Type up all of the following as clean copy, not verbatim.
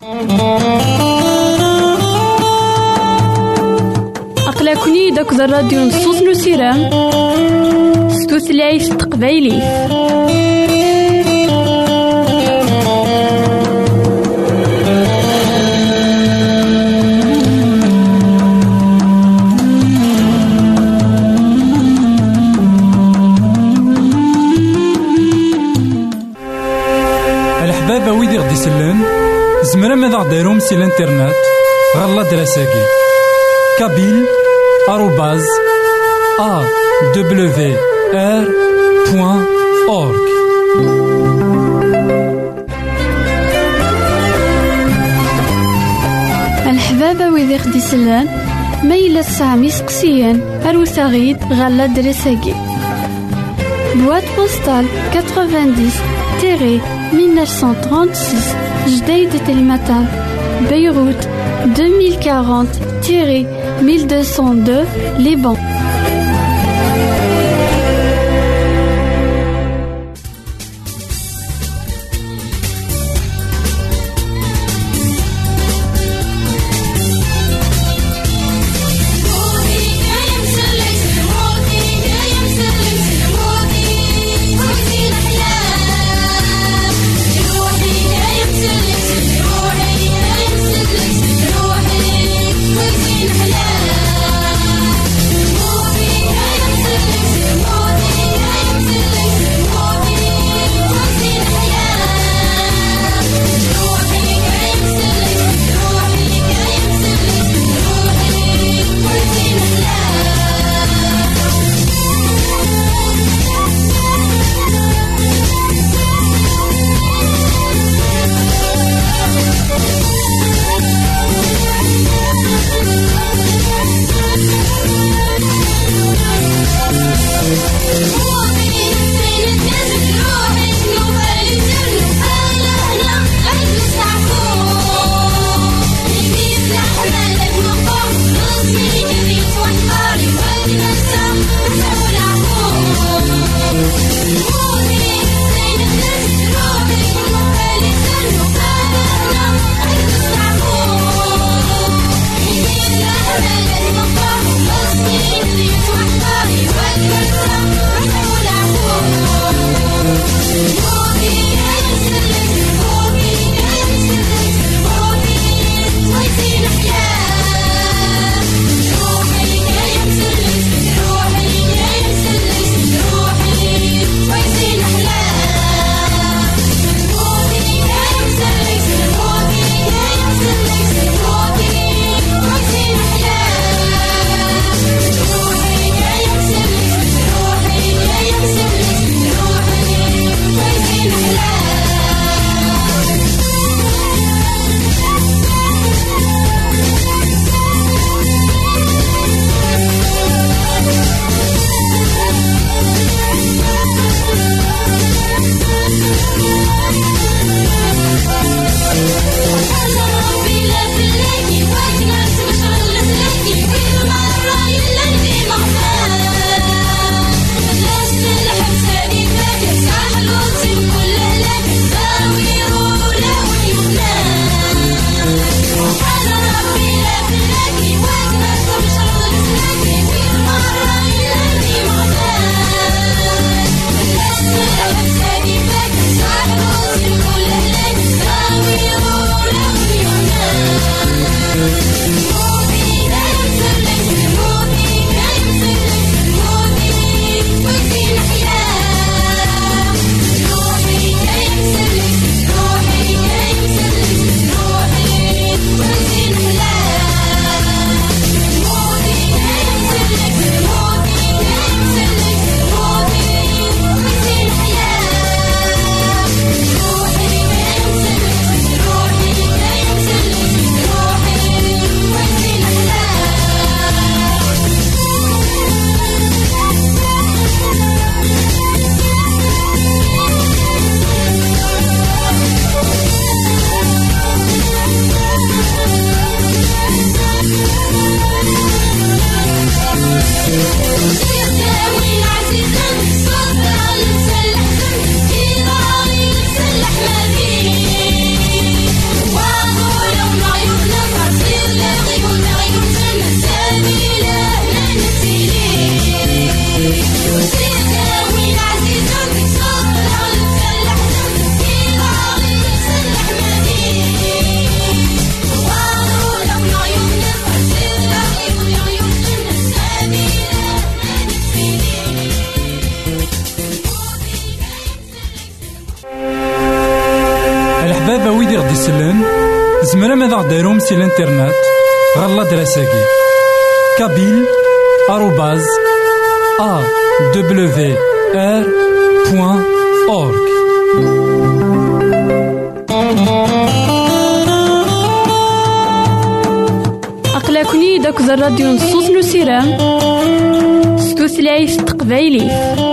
أقلكني داك الراديو نصوص نسيرام ستوثلايف تقبايلي. الحبابة ويدي غدي يسلن زمرا ماذا غديرهم سي الانترنت غالا دراساكي kabyle@awr.org. الحبابة ويدي غدي يسلن ميلا سامي سقسيان أروساغيد غالا دراساكي boîte postale 90-1936 Jdeï de Telmatan Beyrouth 2040-1202 Liban. روحي زمرا ماذا غديرهم سي الانترنت غالا دراساكي kabyle@awr.org. أقلكني داك الراديو نصوص نسيرام ستوثلايف تقبايلي.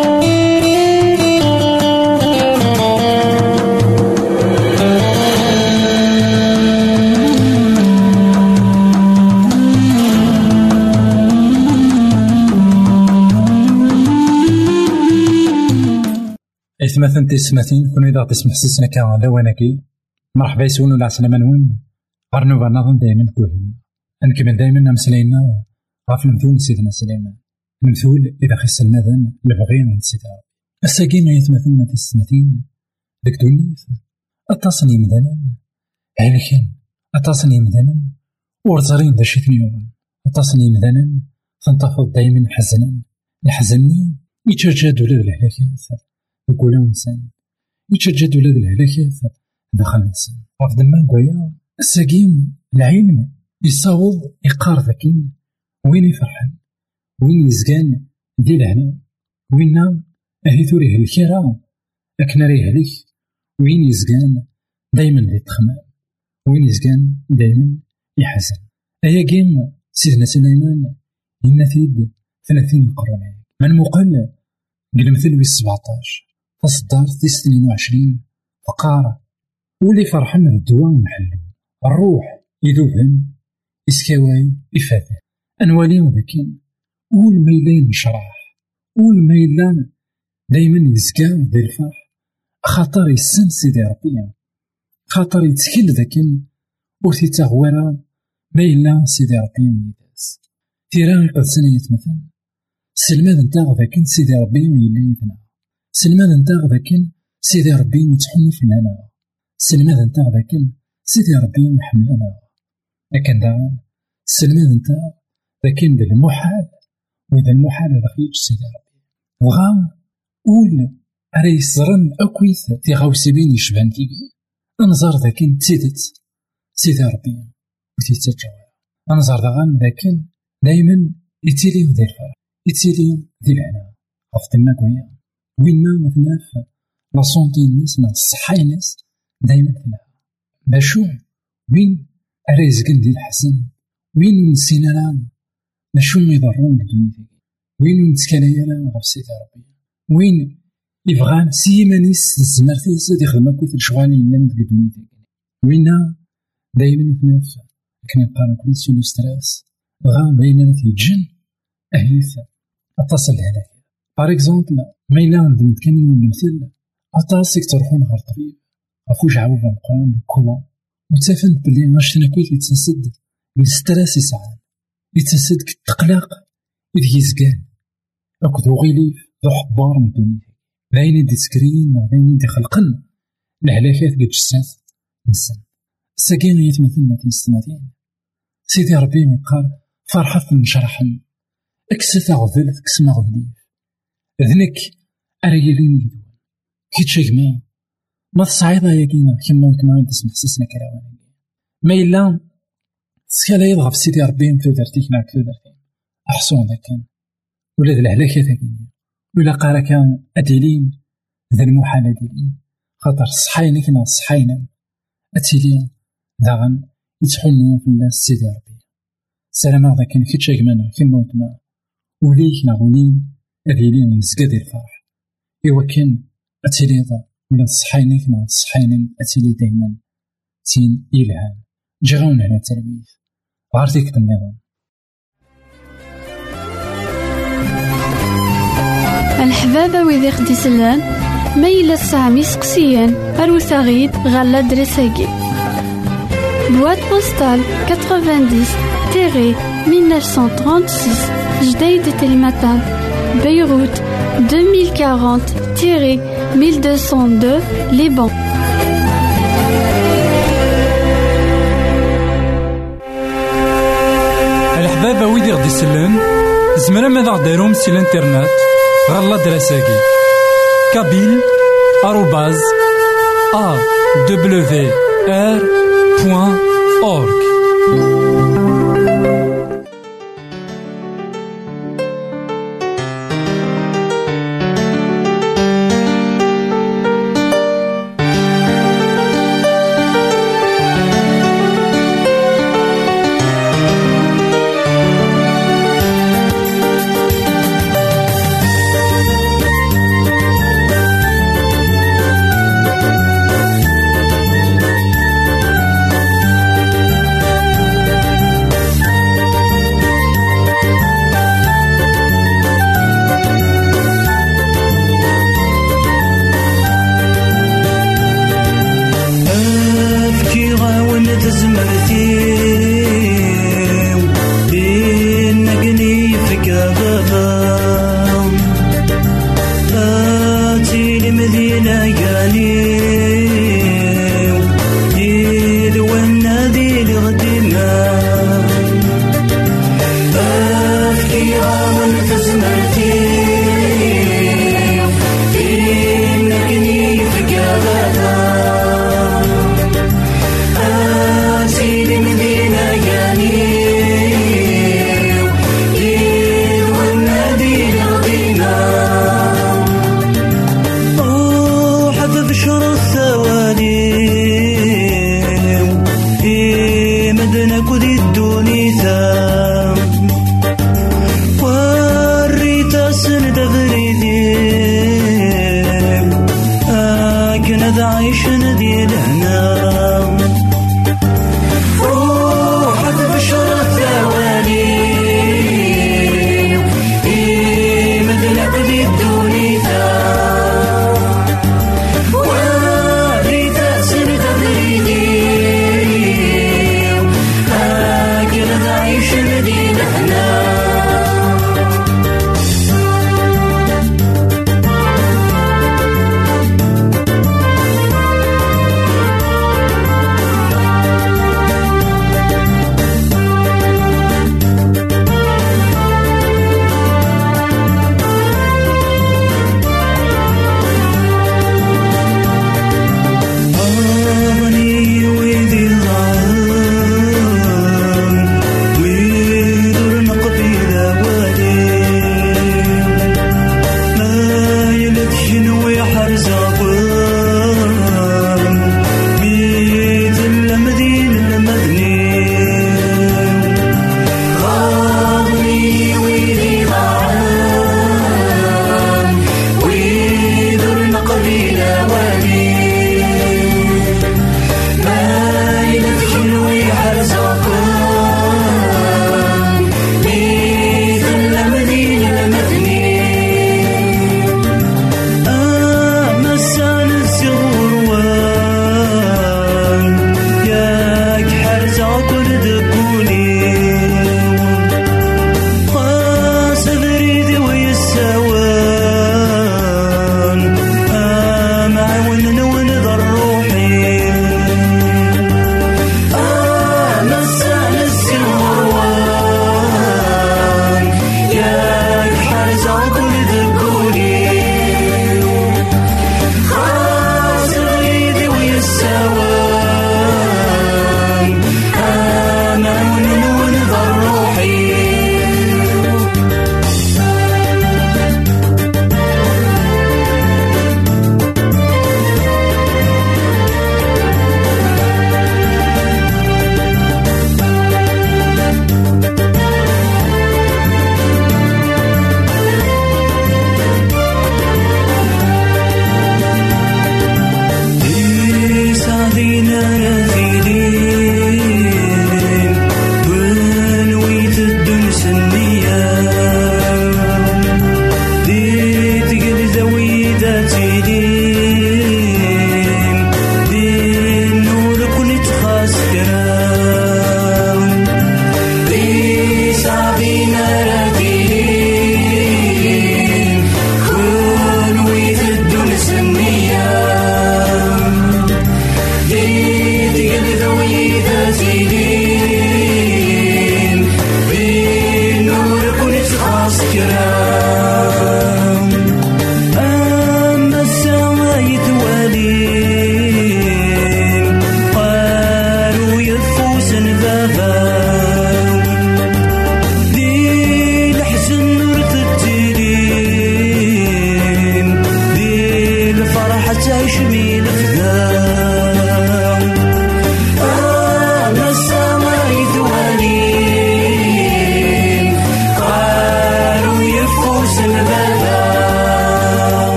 إثمثن تسمثين كون إذا تسمح سسنا كان لواناكي مرحبا يسون ولا عسلامة نون غرنو برناظن دايما كوهين نكمل دايما نمسلينا غاف المثول سيدنا سليمان المثول إذا خس المذن لبغينا نسيتها الساقين يثمثن تسمثين ديك دونيث التصني مذنا هالكين التصني مذنا ورزرين دا شي ثنيوان التصني مذنا تنتفض دايما حزنا الحزني يتجاد ولا الهلاكات يقول إنسان يتجد ولاد الهلاكات داخل الإنسان رفض ما قويا الساقيم العلم يصاوض يقار ذاكين وين يفرحن وين يزقان دي لهنا وين أهي ثوريه الكرا أكنا ريه ليك وين يزقان دايما ذي تخمام وين يزقان دايما يحزن أيا قيم سيدنا سليمان ينثيد 30 قرن من مقل قل مثل 17 تصدر 22 فقارة ولي فرحنا بالدواء نحلو الروح يذوبن يسكاواي يفاذن أنوالي وذاكين ول ميلان شراح ول ميلان دايما يزكا ذي الفرح خاطر يسن سيدي ربي خاطر يتكل ذاكين وثي تغوارا ميلان سيدي ربي ميداس تيران قد سنية مثلا سلمان انتاغ ذاكين سيدي ربي يليدنا سلمان انتاغ ذاكين سيدي ربي يتحني في لنا سلمان انتاغ ذاكين سيدي ربي يحملنا لكن دعان سلمان انتاغ ذاكين ذا المحال وذا المحال هذا خيج سيدي ربي وغام قول أري صرن أكويث في غوسبين يشبهن تيجي أنظر ذاكين تسيدت سيدي ربي وتيتجاوز أنظر ذاكين ذاكين دايما يتيلي ذي الفرح يتيلي ذي العناء غفت ما قويا وينا مثلا في لا سونتي الناس نا الصحة الناس دايما فيها باشو وين أريزقن دي الحسن وين نسينا لان نشو يضرون الدنيا وين نتكاليا لان غف سيدي ربي وين يبغان سيمانيس الزمرتي سيدي خدمة كويت الشغالي لان ديك الدنيا وينا دايما مثلا في كنا نقارن كل سولو ستراس غان بيننا في الجن أهيث أتصل هناك بار اكزومبل ما إلا عندهم كان يوم المثل أطاسك تروحون غير طبيب أفوج عوض القرآن كولون وتفند بلي غاشتنا كويت يتسد بالستراس يسعان يتسد كتقلق إذ يزقان أكدو غيليف ذو حبار من الدنيا ذاين دي سكرين ذاين دي خلقن الهلاكات قد جسات نسن الساقين يتمثلنا في السماتين سيدي ربي مقال فرحة نشرحن أكسة عضلت كسما غليف ذنك أريلين يدوان كيتشاك ما تصعيدها ياكينا كما وكما تسمح سسنا كراوانا ما إلا سكالا يضغب سيدي ربي مكتو درتيكنا كتو درتين أحسون ذاكين ولا ذا الهلاكة ذاكين ولا قارا كان أديلين ذا المحالة ديلين خاطر صحاينا كنا صحاينا أتيلين ذاغن يتحنون في الله سيدي ربي سلام ذاكين كيتشاك مانا كما وكما وليك نغنين أذيلين يزقادي الفرح إوا كان أتيلي ضا ولا صحاينك نا صحاينم أتيلي دايما تين إلهام جغاون هنا التلويث غارتيك النظام الحبابة ويدي خدي سلان ميلا السامي سقسيان أروثاغيد غالا دريساكي بواد بوستال 90-1936 جديد تلمتان بيروت 2040-1202 Liban. الحبابة ويدي غدي سلان زمرا ماذا غديرهم سي الانترنت غالا دراساكي kabyle@awr.org وين تزمرتي إنقني فكابا فاتي لمدينة قاني يدونا ذي الغدمة أفكيها وين تزمرتي إنقني فكابا عايش ندي لهنا روح بشر الثواني مدلك ذي الدنيا وريت سنة بريدي هكذا عايش ندي لهنا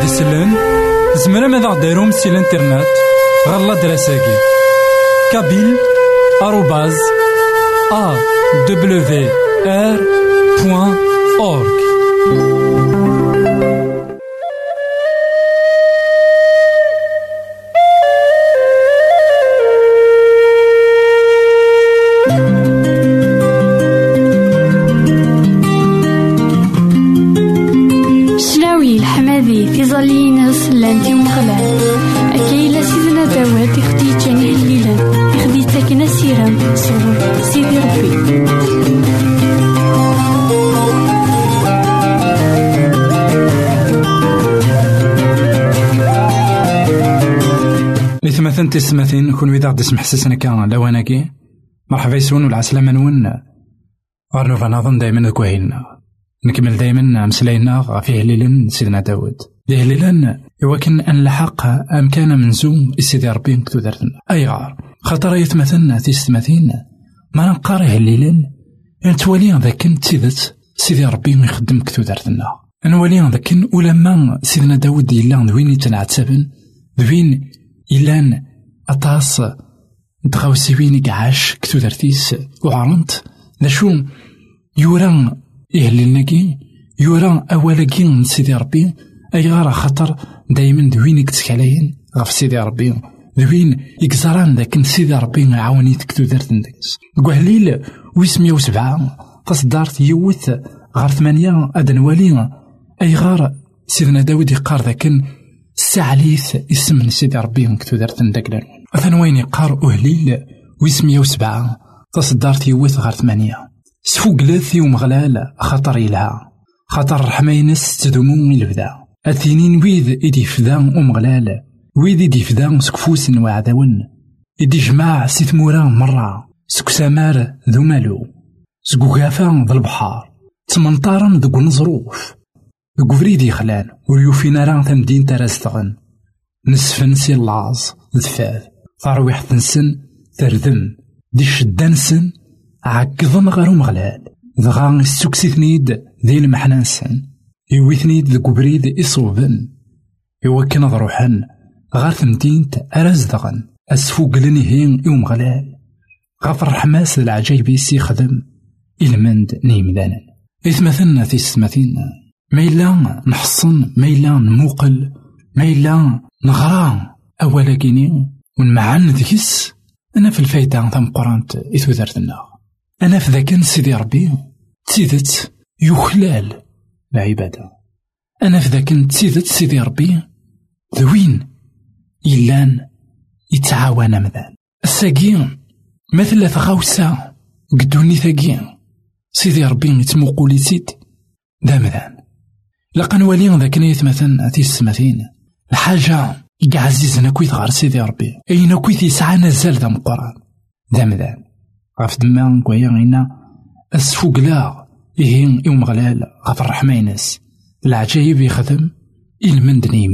يسلم زمرا ماذا غديرهم سي الانترنت غالا دراساكي kabyle@awr.org. تظلين سلانتي ومغلال أكيلا سيدنا داوود يخدي جاني الليلة يخدي تاكنا سيرام سرور سيدي ربي. مثلا تسمثين كون ويدا غدي سمح سسنا كان لواناكي مرحبا يسون والعسلامة نون غارنوفا نظن دايما كوهيلنا نكمل دايما مسلاينا فيه ليلن سيدنا داود ليه ليلن يوكن أن لحق أمكان منزوم السيدي ربي كتو دارتنا أي غار خاطر يتمثلنا تيستمثين ما نقاريه ليلن نتوالي ذاكن تيدت سيدي ربي يخدم كتو دارتنا نوالي ذاكن ولما سيدنا داود يلان دوين يتنعتبن دوين يلان أطاس دغاوسيوين يقعاش كتو دارتيس وعرنت لشو يوران إهلناكي يوران أولاكي من سيدي ربي أي غارة خطر دايما دوين يكتسكالين غف سيدي ربي دوين يكزران داك سيدي ربي عاوني تكتو دارت ندكس قهليل ويسمية وسبعة تصدارت يوث غار 8 أدنوالي أي غارة سيدنا داود يقار ذاكن الساعليث اسم سيدي ربي كتو دارت ندك أثنوين يقار أهليل ويسمية وسبعة تصدارت يوث غار 8 سفوق لاثي ومغلال خطر إلها خطر رحمينس تدومون البدا الثنين ويذ إدي فدا ومغلال ويذ إدي فدا سكفوس وعداون إدي جماع سيثموران مرة سكسامار ذو مالو سكوغافا ذو البحار تمنطارن ذو نظروف ذو فريدي خلان ويوفينا ران تمدين ترازتغن نسفن سي اللاز ذفاذ ثرويح تنسن تردم دي شدانسن عقضن غارو مغلال ذغا السكسيثنيد ذي المحنانسن يويثنيد ذو بريد إصوبن يوكن ضروحن غار ثمتينت أرازدغن أسفوق لنهين يوم غلال غفر حماس العجيب يسي خدم إلمند نيمدانا إثمثلنا في السمثين ميلا نحصن ميلا نموقل ميلا نغران أولا كيني ونمعن ذكس أنا في الفايدة ثم قرانت إثو ذرتنا أنا في ذاك سيدي ربي تيدت يخلال العبادة أنا في ذاك تيدت سيدي ربي ذوين إلان يتعاون مذان الساقين مثل ثغاوسا قدوني ثاقين سيدي ربي يتموقولي سيد دا مذان لقا نوالي ذاك يتمثل تيسمثين الحاجة يعززنا كويت غار سيدي ربي أين كويت يسعى نزال ذا مقران دا مذان غاف دمان كويا غينا السفوق لا إهين يوم غلال غاف الرحمينس العجايب يخدم إلمندني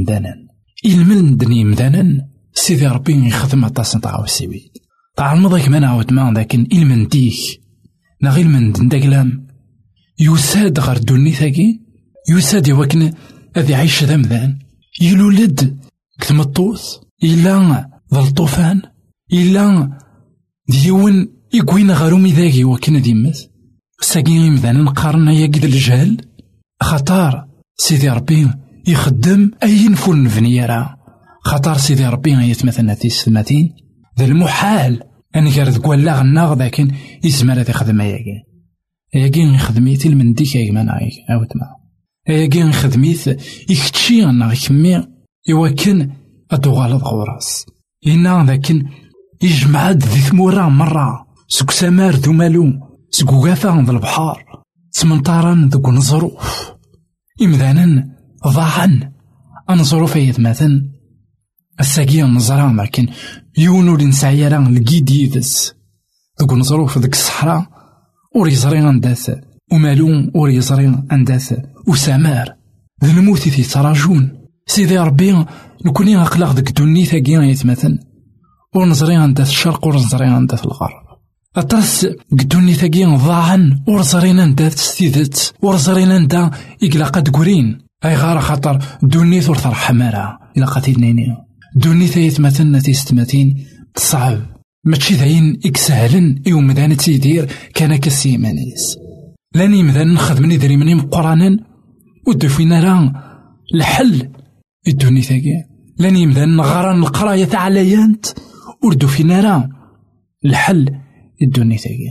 مدانا سيدي ربي يخدم أطاس نطاعو السيويد طاع المضيك ما نعود مان لكن إلمنديك نغيل من دندقلام يساد غار دوني ثاقي يساد يوكن أذي عيش ذا مذان يلولد كثم الطوث إلا ذا الطوفان إلا ديون يقوين غارومي ذاقي وكنا ديمث ساقين مذانا نقارنا يقد الجهل خطار سيدي ربي يخدم أي نفول نفنيرا خطار سيدي ربي يتمثلنا في السماتين ذا المحال أن يرد قولا غناغ ذاكن يسمى ذا خدم ياقين خدميتي المنديك يجمان أو تما ياقين خدميت يكتشي أنا يكمي يوكن أدوغال غوراس إنا ذاكن يجمع ذي ثمورا مرة سكسامار ذو مالو سكوغافا ذا البحار سمنطارا ذو نظروف إمذانا ضاعا أنظروف يتماثن الساقية نظران لكن يونو لنسعيران لقيديدس ذو نظروف ذك الصحراء وريزرين أنداث ومالون وريزرين أنداث وسامار ذو الموت في تراجون سيدي ربي نكوني أقلق ذك دوني ثاقيا يتماثن ونظرين أنداث الشرق ونظرين أنداث الغرب أطرس قدوني ثاقيا ضاعا ورزرين أنداث ستيدت ورزرين أندا إقلاقات قرين أي غار خاطر دونيت ور ترحم راه إلا قاتلنيني دونيت يتمثلنا تيستماتين صعب ماشي داين إكسهلن يوم مدان تيدير كان كسيمانيس لاني مدان نخدمني دريمني مقرانا ودو فينا راه الحل الدونيت هاكي لاني مدان نغران القراية تاع ليانت وردو فينا راه الحل الدونيت هاكي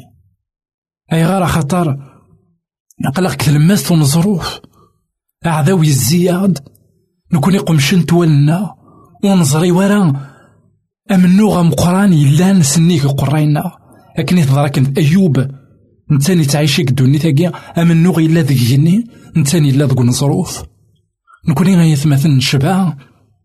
أي غار خاطر نقلق تلمست ونظروف أعذاوي الزياد نكون يقمشن تولنا ونظري ورا أمنو غمقران يلا نسنيك قرينا لكن يتضرا كنت أيوب نتاني تعيشيك دوني تاقيا أمنو غيلا ذيك جني نتاني لا ذوك نظروف نكون غيثمثل نشبع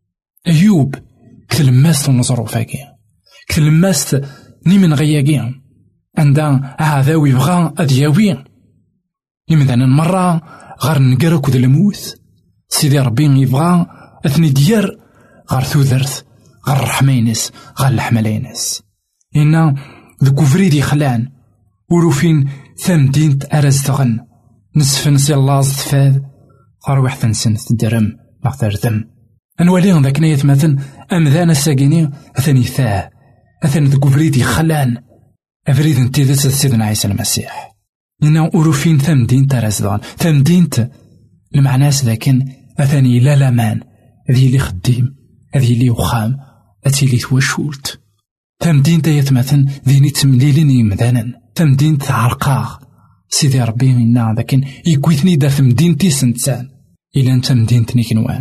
أيوب كتلمست ونظروف هاكي كتلمست نيمن غياقيا عندها أعذاوي بغا أدياوي يمدانا مرة غار نقرك ذا الموت سيدي ربي يبغى أثني ديار غار ثوذرت غار رحمينس غار الحملينس إنا ذكو فريدي خلان وروفين ثمدين أرزتغن نسفن سي اللاز تفاد غار واحد نسن تدرم نغتر ذم أنواليهم ذاك نايت مثلا أمذان الساقيني أثني ثاه أثني ذكو فريدي خلان أفريد انتي سيدنا عيسى المسيح إنا أوروفين ثمدين ترزدان ثمدينت المعناس ذاكن أثاني لا لامان هذه اللي خديم هذه اللي وخام هذه اللي توشولت ثمدين تيتمثل ذيني تمليلين يمدانا ثمدين تعرقاغ سيدي ربي إنا ذاكن يكويثني دا ثمدين تيسنتسان إلا انت مدينتني كنوان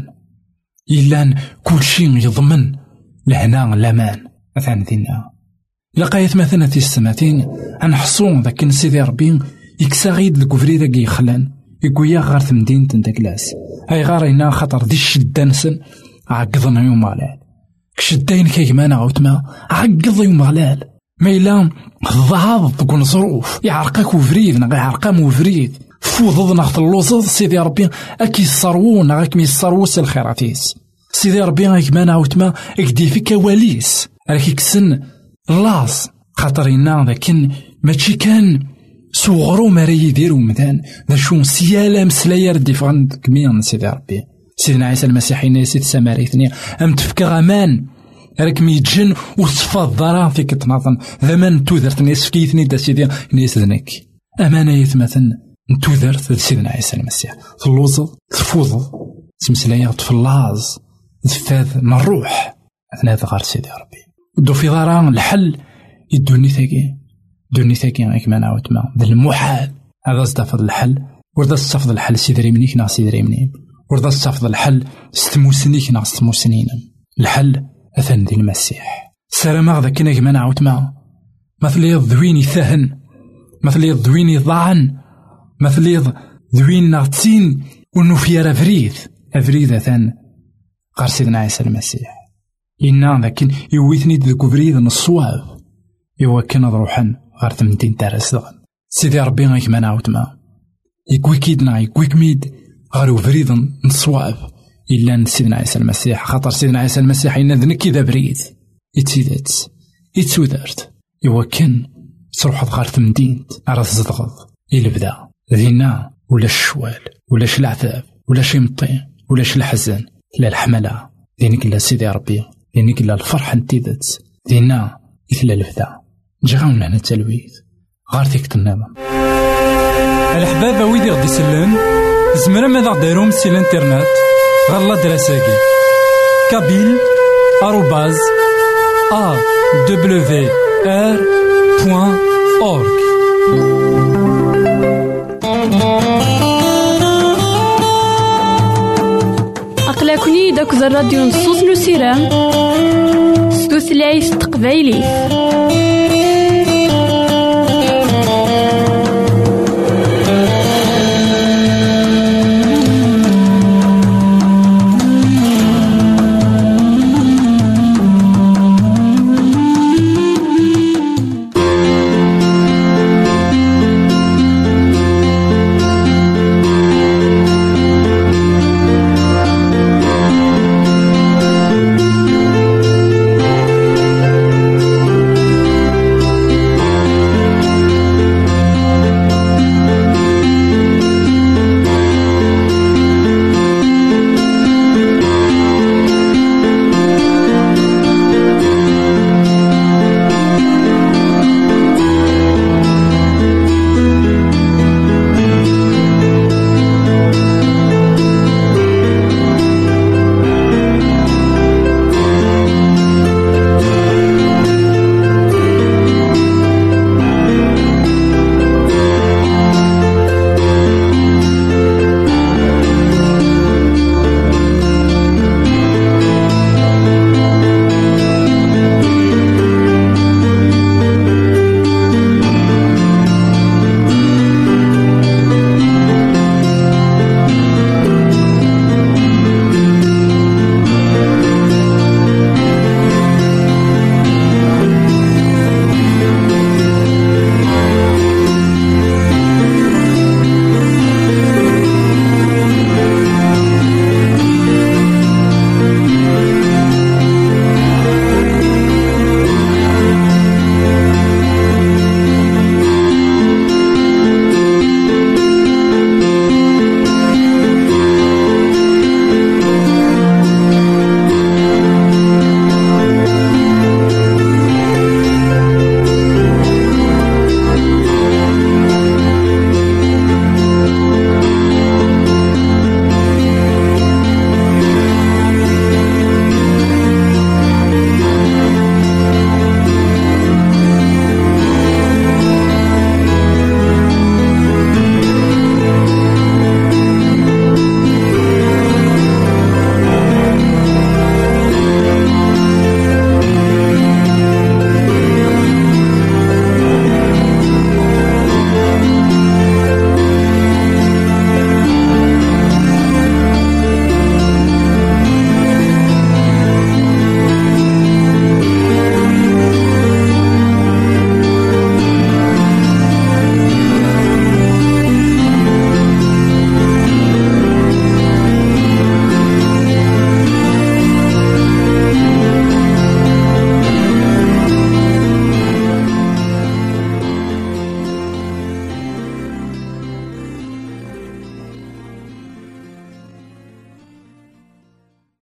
إلا كل شيء يضمن لهنا لامان أثان ذينا لقايت مثلا تيستماتين عن حصون ذاكن سيدي ربي يكساغيد الكفري ذاك يخلان يقويا غار ثمدين تندكلاس هاي غار إنا خطر دي الشدانسن عقضنا يوم غلال كشدين كيمانا عوتما عقض يوم غلال ما إلا الضعاض تكون ظروف يعرقاك وفريد نغا يعرقا موفريد فوضض نغط اللوزض سيدي ربي أكي الصروون غاك مي الصروس الخيراتيس سيدي ربي غاكمانا عوتما اكدي فيك واليس راكي كسن لاص خاطر إنا ذاكن ماشي كان صغرو ماري يديرو مدان ذا شون سيالا مسلايا ردي فغن كميا سيدي ربي سيدنا عيسى المسيحي سيد سماريثني أم تفكى غمان راك ميتجن وصفات ضرا فيك تناظن ذمان توذرت نيس فكيثني دا سيدي نيس ذنك أمانة يتمثل توذرت سيدنا عيسى المسيح تلوزض تفوض تمسلايا تفلاز تفاذ من الروح أثناء غار سيدي ربي دو في ضرا الحل يدوني ثاقي دوني ثاقي كما نعاود ما ذا المحال هذا استفض الحل وردا استفض الحل سيدري منيك نا سيدري منين وردا استفض الحل ستموسنيك نا ستموسنين الحل أثن ذي المسيح سلام هذا كنا كما نعاود ما مثل يضويني ثهن مثل يضويني ضعن مثل يضوين نغتين ونفير أفريد أثن غار سيدنا عيسى المسيح إنا ذاكن يويثني ذكو فريد الصواب يوكن روحا غار ثمدين تارسدغن سيدي ربي غيك ما نعاود ما يكوي كيدنا يكوي كميد غار وفريد نصواب إلا سيدنا عيسى المسيح خاطر سيدنا عيسى المسيح إنا ذنك إذا بريد يتسيدات يتسودرت يوكن تروح غار ثمدين على الزدغض إلا بدا ذينا ولا الشوال ولا العذاب ولا شي مطين ولا الحزن لا الحملة ذينك إلا سيدي ربي ذينك إلا الفرح انتيدت ذينا إثلا البدا جاونا هنا التلويث غار ثيك النظام الأحباب ويدي غدي يسلم زمرا ماذا غديرهم سي الانترنت غالا دراساكي كابيل @awr.org أقلكني داك الراديو نصوص نسيران ستوثلايف تقبايلي